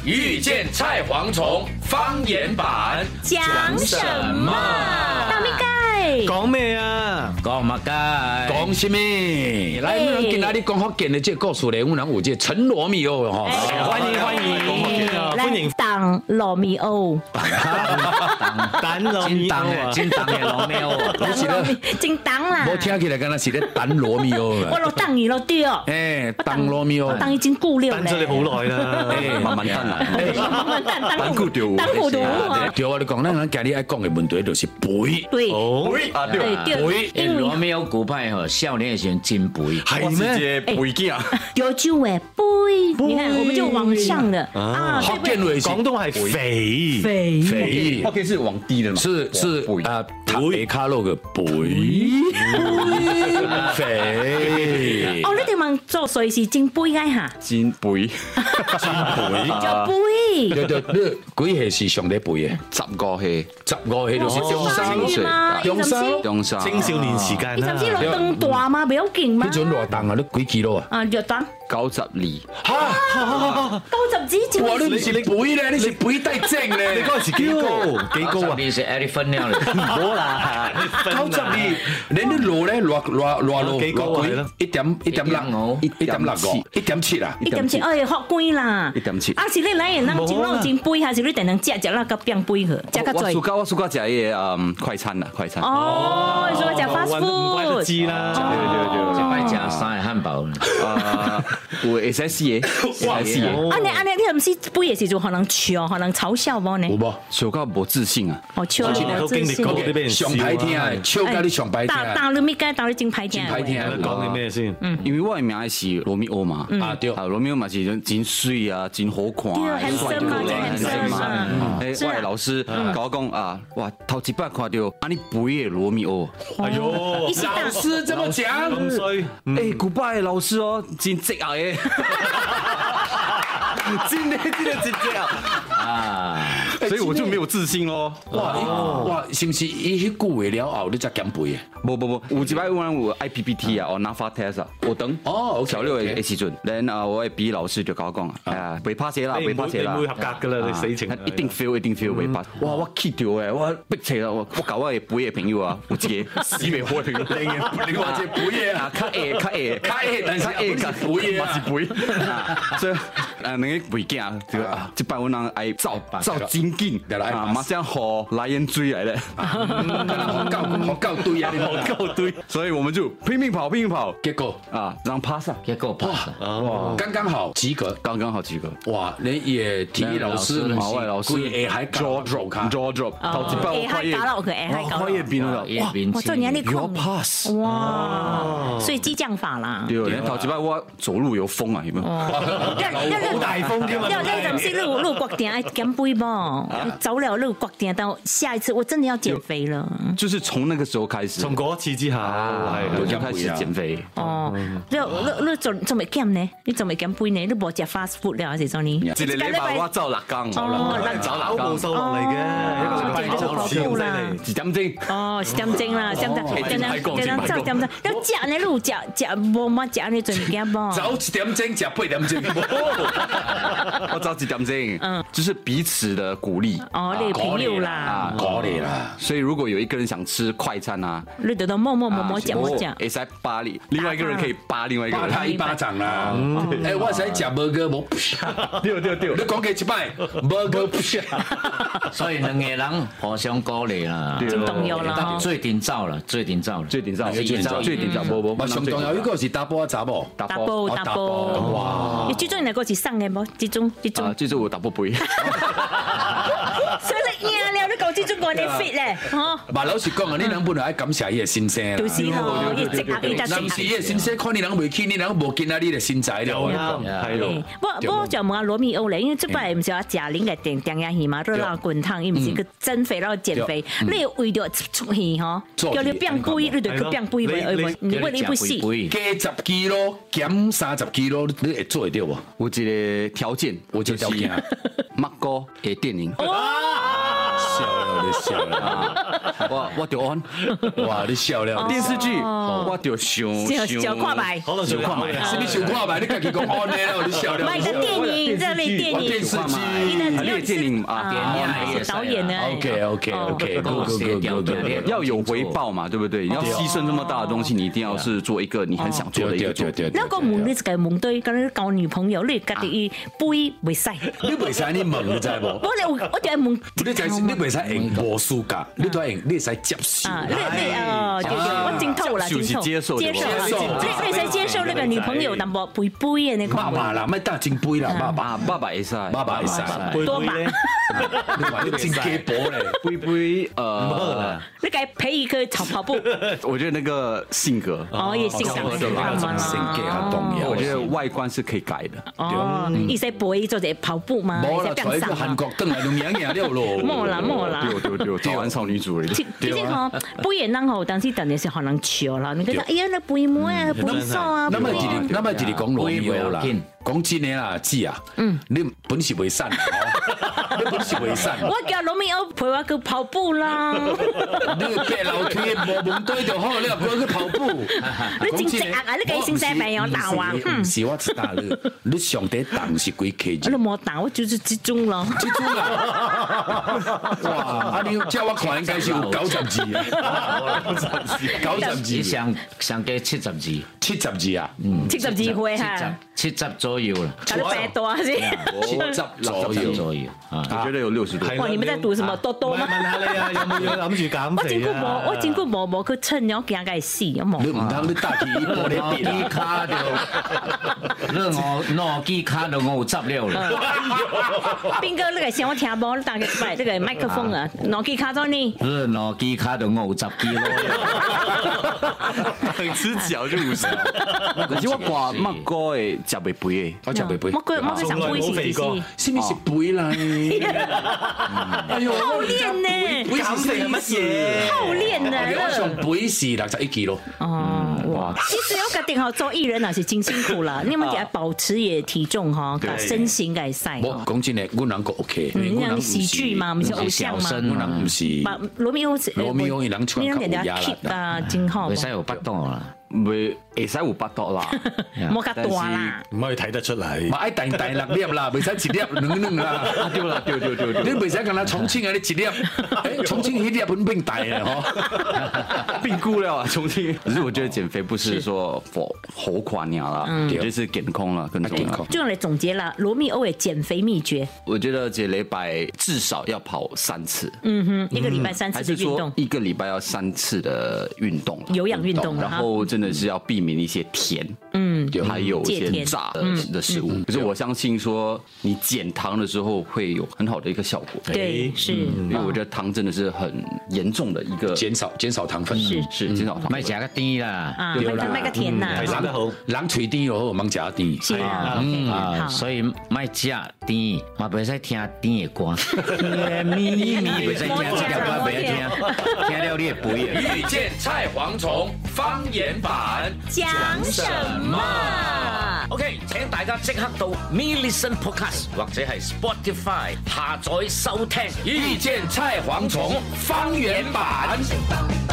遇见菜蝗虫方言版讲什么？大咪盖讲咩啊？ 讲乜解？ 讲什么？来，我们今仔日讲福建的这个故事呢，我们有这陈罗密欧哈， 欢迎欢迎欢迎当罗密欧， 蛋罗密欧啊！ 真当的罗密欧， 你是咧？ 真当啦！ 我听起来敢若是咧等罗密欧我落当伊落对哦， 等罗密欧， 当已經顧了等咗你好耐啦， 慢慢等啦， 慢慢等久掉， 等糊塗啊！ 對我哋講咧，今日愛講嘅問題就是肥， 對肥， 因為羅密歐古派吼，少年的時候真肥， 係咩？肥囝， 有酒誒杯，你看我們就往上的啊， 福建話是廣東係肥肥， 福建是往低的嘛， 是啊，塔北卡路嘅肥，肥。 哦，你哋問做誰是真杯嘅嚇？ 金杯， 就杯， 你幾歲是上帝肥嘅 10個係 ？15歲就是中三嘛， 中三中山青少年時間你甚至啦。 落凳大嘛，比較勁嘛。 你陣偌重啊？你幾 kilo 啊？ 啊，弱檔 92， 90子哇！你唔是肥咧，你是肥帶正咧。 你嗰陣時幾高啊？ 你是 elephant 了嘞， 冇啦 92，你啲路咧落幾高啊？係咯 1.6，1.6，1.7啊 1.7，哎，學貴啦。 1.7 啊，是你來人當真攞真杯，還是你定能食那個變杯去，食較濟？ 我暑假食嘢快餐啦，快餐。 哦，你說食 fast 唔怪得 food。 知啦。 一擺食三個漢堡。 會使試嘢，使試嘢。 啊，你係唔是杯嘅時就可能笑，可能嘲笑我呢？ 有冇？ 暑假冇自信啊！ 哦，笑之前你都經歷過啲俾人笑上排聽啊，笑到你上排聽。 打你咪該打你真排聽。 真歹聽講啲咩先？ 因為我嘅名是羅密歐嘛， 對， 羅密歐嘛是真水啊，真好看啊， 對，handsome 嘛真 handsome 嘛誒，我嘅老師教我講啊，哇，頭一擺看到啊你肥嘅羅密歐， 哎呦， 一時打是這麼講。 咁衰， 誒，古拜嘅老師哦，真直啊嘅，真的真直啊！所以我就沒有自信咯。 哇，是唔是伊迄句話了後你才減肥啊？ 冇，有一擺我有 IPPT 啊，我拿發 test 啊，我等小六嘅時陣，然後我嘅筆老師就教我講啊，未 pass 啦，未 pass 啦， 你會合格噶啦，你死情一定 fail 未 pass。哇，我 keep 掉嘅，我逼切啦，我搞我嘅背嘅朋友啊，有一個死未開朋友， 你話隻肥嘢啊， 較 A， 但是肥嘢啊， 是肥，所以那個肥囝就啊，一擺我人愛走真緊，啊，馬上和來人追來咧， 好夠對啊，你好夠對， 所以我們就拼命跑， 結果啊，讓 pass 啊， 結果 pass， 哇，剛剛好及格， 剛剛好及格。 哇，你也體育老師， 馬外老師， 佢還 draw drop， 頭一擺我還搞到佢，還搞到。 也變了， 哇，做年你有 pass， 哇，所以激將法啦。 對，連頭一擺我走路有風啊，有冇？ 好大風添啊！ 你就唔是路國定愛減肥噃，走了路國定到下一次我真的要減肥了。 就是從那個時候開始， 從嗰次之後， 我就開始減肥。 哦，你仲未減呢？你仲未減肥呢？你冇食 fast food 了還是做呢？ 一個禮拜我走6缸， 走冇數落嚟嘅，一個禮拜走2公里， 一點鐘。 哦，是點鐘啦，點鐘，走點鐘，要食呢？路食冇乜食呢？做物件噃？ 走1點鐘，食8點鐘， 我走1點鐘，就是彼此的鼓勵。 哦，你朋友啦， 鼓勵啦。 所以如果有一個人想吃快餐啊， 你就摸食， 會使扒你，另外一個人可以扒另外一個人， 他一巴掌啦。誒，我使食burger冇，對，你講幾一擺 burger， 所以兩個人互相鼓勵啦， 真重要啦。 最頂走啦， 冇上重要，呢個是打波查冇？ 打波，哇！你最中意係嗰時生嘅冇？最終我打波杯。 所以你贏了，你講最終講你 fit 咧，嗬？ 嘛老實講啊，你人本來愛感謝伊嘅先生。 就是咯，要積合，要若是伊嘅先生，看你人未起，你人無見啊，你嘅身材了。 係咯。 不過就問下羅密歐咧，因為即擺唔是話賈玲嘅電影戲嘛，都鬧滾燙，伊唔是個增肥然後減肥，你為咗出戲嗬，叫你變肥，你就去變肥咪，你為你不死。 加10 kg，減30 kg，你會做得到無？ 有一個條件，就是麥哥嘅電影。 你笑了， 我就安， 哇，你笑了。 电视剧我就想看白， 可能想看白， 是你想看白？你自己讲安尼了，你笑了。 买个电影，这类电影， 电视剧， 电影啊， 导演呢 ？OK， 要有回报嘛，对不对？你要牺牲这么大的东西，你一定要是做一个你很想做的一个。 那个问你一个问对，刚才交女朋友，你家己杯袂使， 你袂使你问，你知无？ 我就问， 你袂使用无输噶，你都用，你使接受。 我真透啦， 就是接受， 你使接受那个女朋友淡薄杯杯的那爸爸啦，莫打真杯啦， 爸爸会使， 多把， 你话你真假薄嘞， 杯你该陪一个跑步。 我觉得那个性格也性格很重要。 我觉得外观是可以改的。 你使陪做者跑步吗？ 冇啦，在个韩国登来就赢了咯。 冇啦， 对，早安少女主人。 其實嗬，杯也啷好，但是等於是可能潮啦。你覺得哎呀，那杯妹啊，杯手啊， 那麼一日講羅密歐啦，講真嘅啦，姊啊，你本事未散，你本事未散。 我叫羅密歐陪我去跑步啦。 你白樓梯無門對就好，你又陪佢跑步。 你真直啊！你計先生朋友鬧啊？ 唔是我知道你上底檔是幾 K？ 你冇打，我就是集中咯。 集中啦！哇！啊，你叫我看應該是有90字啊，90字。 你上加70字 ，70字啊 ，70字會嚇 ，70左右啦， 搞得白多先 ，70左右啊，我覺得有60多。 哇！你們在讀什麼多多嗎？ 問下你啊，有冇諗住減肥啊？ 我真係冇去稱，我驚佢死，我冇。 你唔通你打起玻璃邊卡就，你攞機卡就50了啦。 邊個？你個想我聽無？你打個麥，這個麥克風啊，攞機卡咗呢？ 你攞機卡就50 kg 兩隻腳就50。可是我掛乜歌誒，食袂肥誒， 我食袂肥。 我上杯是咩是肥啦？ 哎呦，好練呢！ 減肥係乜嘢？ 好練呢！ 我上杯是61 kg。 哇！其實我決定好做藝人也是真辛苦啦，你們要保持也體重哈，身形改善。 我講真嘅，我能夠 OK。 你人喜劇嘛，唔是偶像嘛？ 我能唔是。 羅密歐， 伊人穿較有壓力啊，真好。 會使有腹肚啦。 會使有腹肚啦， 冇咁大啦， 唔可以睇得出嚟。 咪愛大6粒啦，未使1粒2啦。 對啦， 你未使咁啦，重慶啊，你1粒，重慶迄粒本變大啊，嗬， 變菇了啊，重慶。可是我覺得減肥不是說好垮鳥啦，就是健康啦，更重要。 就用來總結啦，羅密歐嘅減肥秘訣。 我覺得這禮拜至少要跑3次。 一個禮拜3次的運動。 一個禮拜要3次的運動， 有氧運動， 然後真的是要避免一些甜，還有一些炸的食物。可是我相信說，你減糖的時候會有很好的一個效果。 對，是， 因為我覺得糖真的是很嚴重的一個減少糖分， 是減少糖分。 咪食個甜啦， 賣個甜啦， 係食得好， 人嘴甜又好，唔食甜。 是啊， 所以咪食甜，嘛袂使聽甜的歌。咪袂使聽這條歌，袂使聽，聽了你會肥啊。 遇見菜蝗蟲方言版講什麼 ？OK， 請大家即刻到 Me Listen Podcast 或者係 Spotify 下載收聽《 遇見菜蝗蟲方言版》。